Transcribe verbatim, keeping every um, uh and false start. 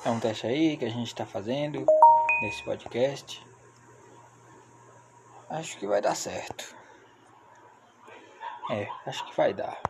É um teste aí que a gente está fazendo nesse podcast. Acho que vai dar certo. É, acho que vai dar.